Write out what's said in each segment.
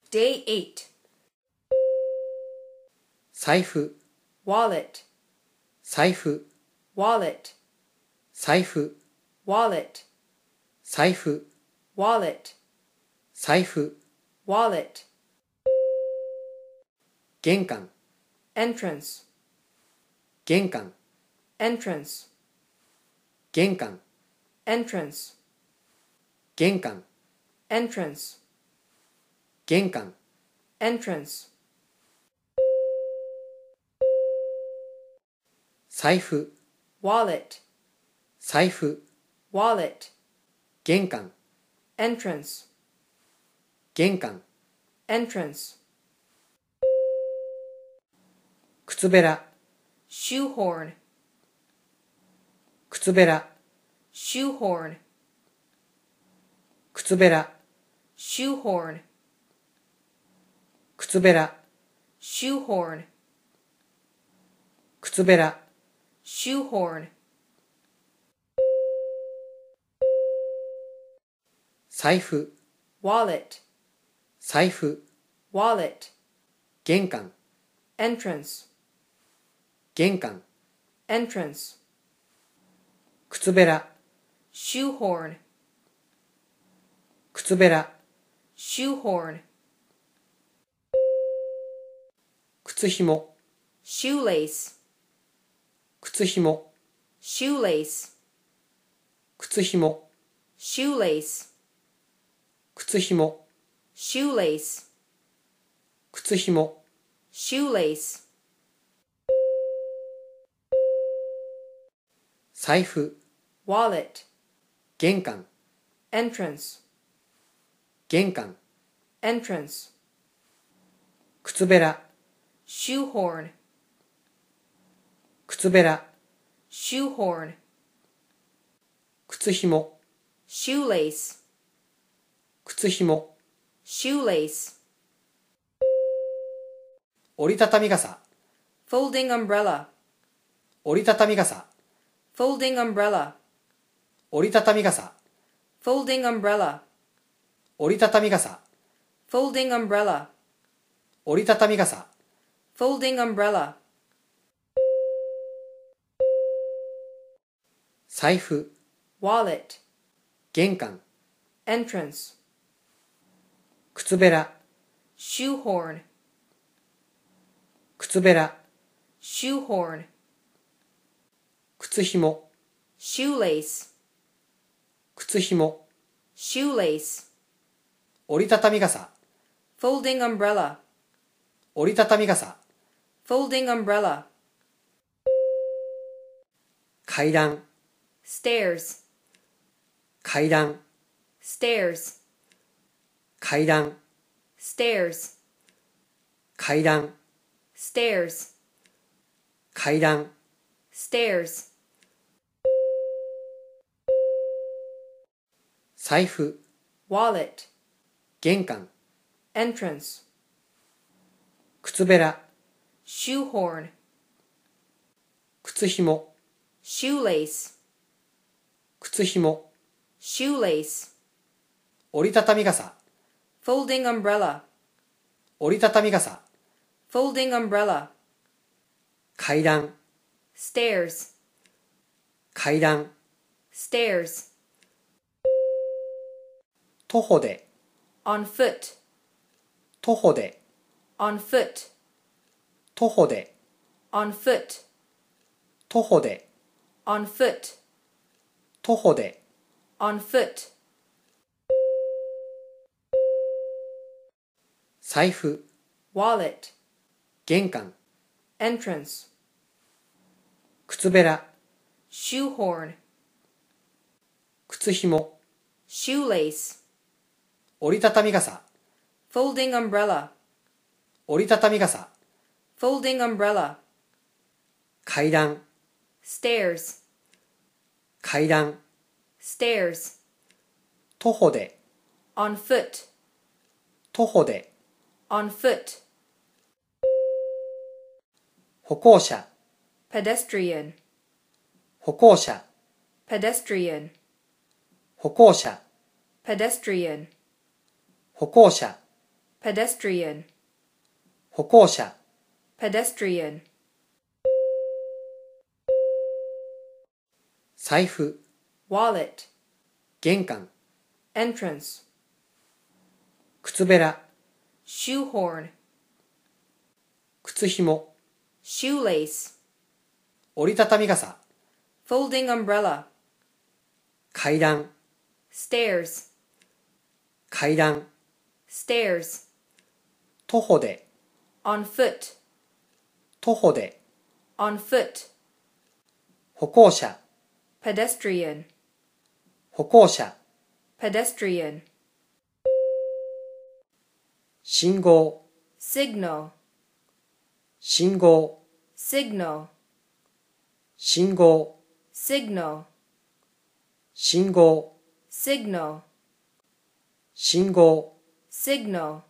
Day 8. 財布、 Wallet, 財布、 wallet, 財布、 wallet, 財布、 wallet, 財布、 wallet. 玄関、 Entrance, 玄関、 entrance, 玄関、 entrance, 玄関、 entrance, 玄関、 entrance. 財布、 Wallet, 財布、 wallet, 玄関、 entrance, 玄関、 entrance. 靴べら、 Shoehorn, 靴べら、 shoehorn, 靴べら、 shoehorn, 靴べら、 shoehorn, 靴べら、 shoehorn. 財布、 Wallet, 財布、 wallet, 玄関、 entrance, 玄関、 entrance, 靴べら、 shoehorn, 靴べら、 shoehorn, 靴ひも、 shoelace, 靴ひも、 shoelace, 靴ひも、 shoelace, 靴ひも、 shoelace, 靴ひも、 shoelace. 財布、 Wallet, 玄関、 entrance, 玄関、 entrance, 靴べら、 shoehorn, 靴べら、 shoehorn, 靴ひも、 shoelace, 靴ひも、 shoelace. 折りたたみ傘、 Folding umbrella, 折りたたみ傘、 folding umbrella, 折りたたみ傘、 folding umbrella, 折りたたみ傘、 folding umbrella, 折りたたみ傘、 folding umbrella. 財布、 Wallet, 玄関、 entrance, 靴べら、 shoehorn, 靴べら、 shoehorn, 靴ひも、 shoelace, 靴ひも、 shoelace, 折りたたみ傘、 folding umbrella, 折りたたみ傘、 folding umbrella. 階段、 Stairs, 階段、 stairs, 階段、 stairs, 階段、 stairs, 階段、 stairs. 財布、 Wallet, 玄関、 entrance, 靴べら、 shoehorn, 靴ひも、 shoelace, 靴ひも、 shoelace, 折りたたみ傘、 folding umbrella, 折りたたみ傘、 folding umbrella, 階段、 stairs, 階段、 stairs, 徒歩で、 on foot, 徒歩で、 on foot, 徒歩で、 on foot, 徒歩で、 on foot, 徒歩で、 on foot. 財布、 Wallet, 玄関、 entrance, 靴べら、 shoehorn, 靴ひも、 shoelace, 折りたたみ傘、 folding umbrella, 折りたたみ傘、 folding umbrella, 階段、 stairs, 階段、 stairs, 徒歩で、 on foot, 徒歩で、 on foot, 歩行者、 pedestrian, 歩行者、 pedestrian, 歩行者、 pedestrian, 歩行者、 pedestrian, 歩行者、 pedestrian, 財布、 wallet, 玄関、 entrance, 靴べら、 shoehorn, 靴ひも、 shoelace, 折りたたみ傘、 folding umbrella, 階段、 stairs, 階段、 stairs, 徒歩で、 on foot, 徒歩で、 on foot, 歩行者、 pedestrian, 歩行者、 pedestrian, 信号、 signal, 信号、 signal, 信号、 signal, 信号、 signal, 信号、 signal,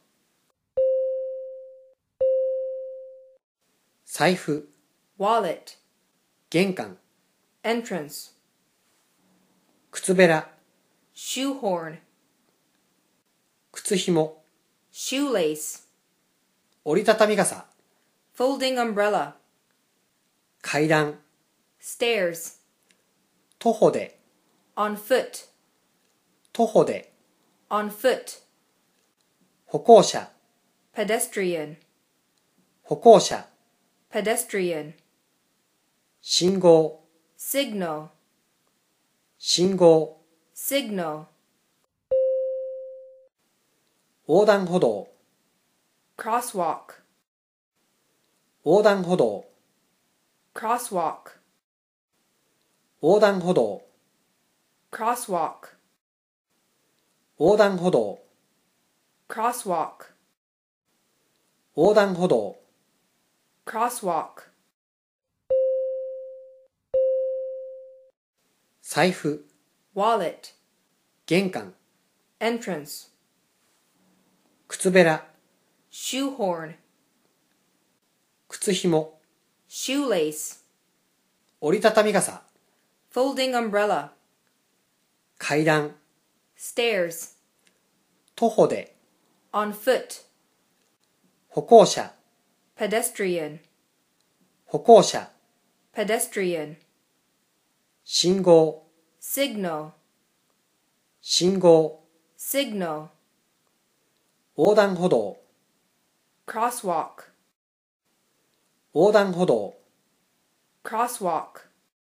財布、 wallet, 玄関、 entrance, 靴べら、 shoehorn, 靴ひも、 shoelace, 折りたたみ傘、 folding umbrella, 階段、 stairs, 徒歩で、 on foot, 徒歩で、 on foot, 歩行者、 pedestrian, 歩行者、 pedestrian, 信号、 signal, 信号、 signal, 横断歩道、 crosswalk, 横断歩道、 crosswalk, 横断歩道、 crosswalk, 横断歩道、 crosswalk, 横断歩道、 crosswalk, 財布、 wallet, 玄関、 entrance, 靴べら、 shoehorn, 靴ひも、 shoelace, 折りたたみ傘、 folding umbrella, 階段、 stairs, 徒歩で、 on foot, 歩行者、 pedestrian, 歩行者、 pedestrian, 信号、 signal, 信号、 signal, 横断歩道、 crosswalk, 横断歩道、 crosswalk,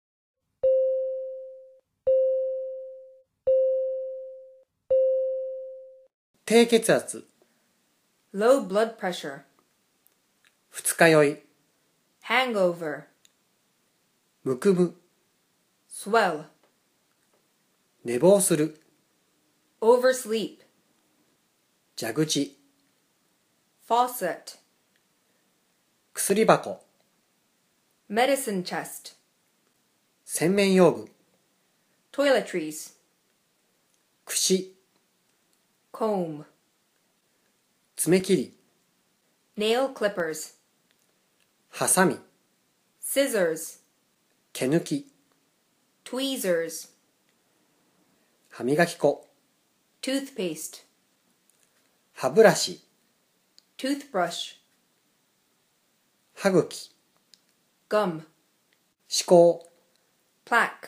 低血圧、 low blood pressure, 二日酔い、 hangover, むくむ、 swell, 寝坊する、 oversleep, 蛇口、 faucet, 薬箱、 medicine chest, 洗面用具、 toiletries, 櫛、 comb, 爪切り、 nail clippers, ハサミ、 scissors, 毛抜き、 tweezers, 歯磨き粉、 toothpaste, 歯ブラシ、 toothbrush, 歯茎、 gum, 歯垢、 plaque,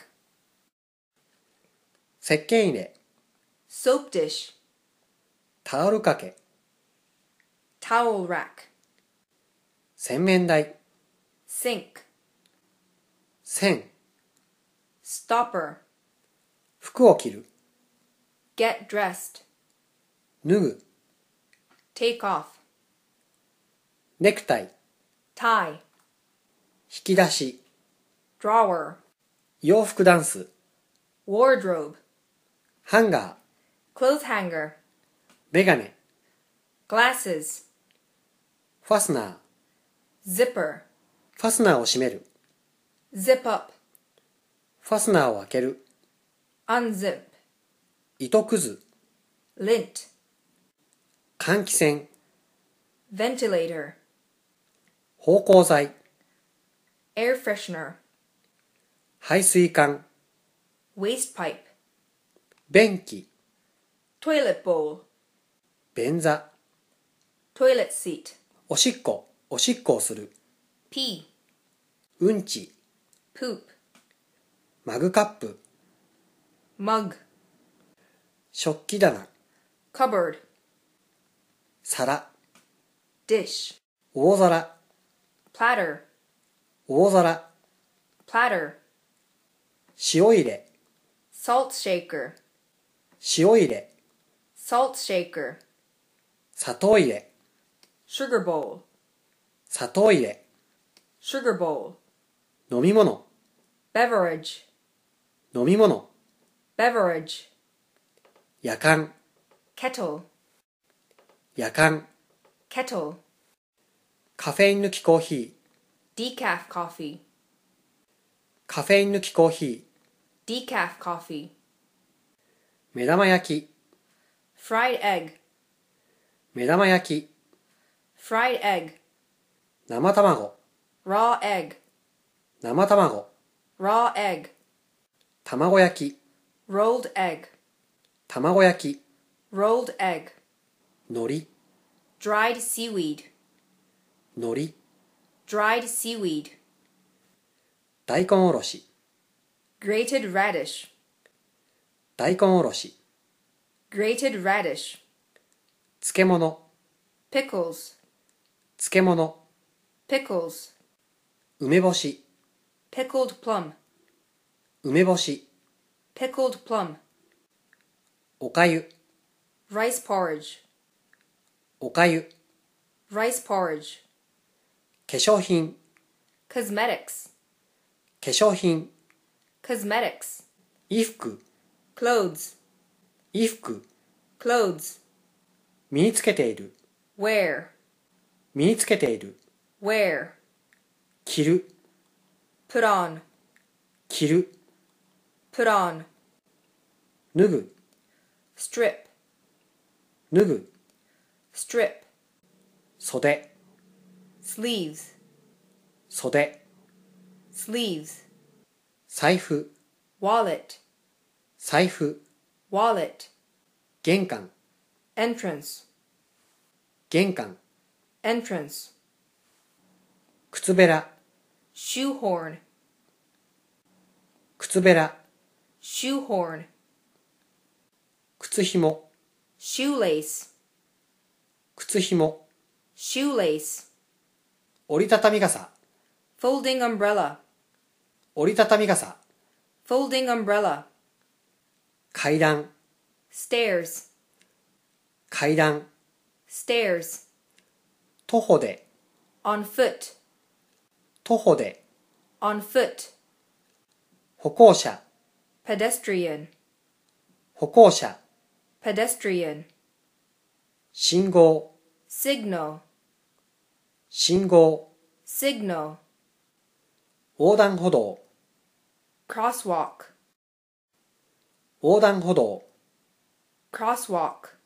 石鹸入れ、 soap dish, タオル掛け、 towel rack, 洗面台、 sink, 線、 stopper, 服を着る、 get dressed, 脱ぐ、 take off, ネクタイ、 tie, 引き出し、 drawer, 洋服ダンス、 wardrobe, ハンガー、 clothes hanger, メガネ、 glasses, ファスナー、 zipper, ファスナーを閉める、 zip up, ファスナーを開ける、 unzip, 糸くず、 lint, 換気扇、 ventilator, 芳香剤、 air freshener, 排水管、 waste pipe, 便器、 toilet bowl, 便座、 toilet seat, おしっこをする。 pee, うんち、 poop, マグカップ、 mug, 食器棚、 cupboard, 皿、 dish, 大皿、 platter, 大皿、 platter, 塩入れ、 salt shaker, 塩入れ、 salt shaker, 砂糖入れ、 sugar bowl, 砂糖入れ、 sugar bowl, 飲み物、 beverage, 飲み物、 beverage, やかん、 kettle, やかん、 kettle, カフェイン抜きコーヒー、 decaf coffee, カフェイン抜きコーヒー、 decaf coffee, 目玉焼き、 fried egg, 目玉焼き、 fried egg, 生卵、 raw egg, 生卵、 raw egg, 卵焼き、 rolled egg, 卵焼き、 rolled egg, 海苔、 dried seaweed, 海苔、 dried seaweed, 大根おろし、 grated radish, 大根おろし、 grated radish, 漬物、 pickles, 漬物、 pickles, 梅干し、 pickled plum, 梅干し、 pickled plum, おかゆ、 rice porridge, おかゆ、 rice porridge, 化粧品、 cosmetics, 化粧品、 cosmetics, 衣服、 clothes, 衣服、 clothes, 身につけている、 wear, 身につけている、 wear, 着る、 put on, 着る、 put on, 脱ぐ、 strip, 脱ぐ、 strip, 袖、 sleeves, 袖、 sleeves, 財布、 wallet, 財布、 wallet, 玄関、 entrance, 玄関、 entrance, 靴べら、 shoehorn, 靴べら、 shoehorn, 靴ひも、 shoelace, 靴ひも、 shoelace, 折りたたみ傘、 folding umbrella, 折りたたみ傘、 folding umbrella, 階段、 stairs, 階段、 stairs, 徒歩で、 on foot, 徒歩で、 on foot, 歩行者、 pedestrian, 歩行者、 pedestrian, 信号、 signal, 信号、 signal, 横断歩道、 crosswalk, 横断歩道、 crosswalk,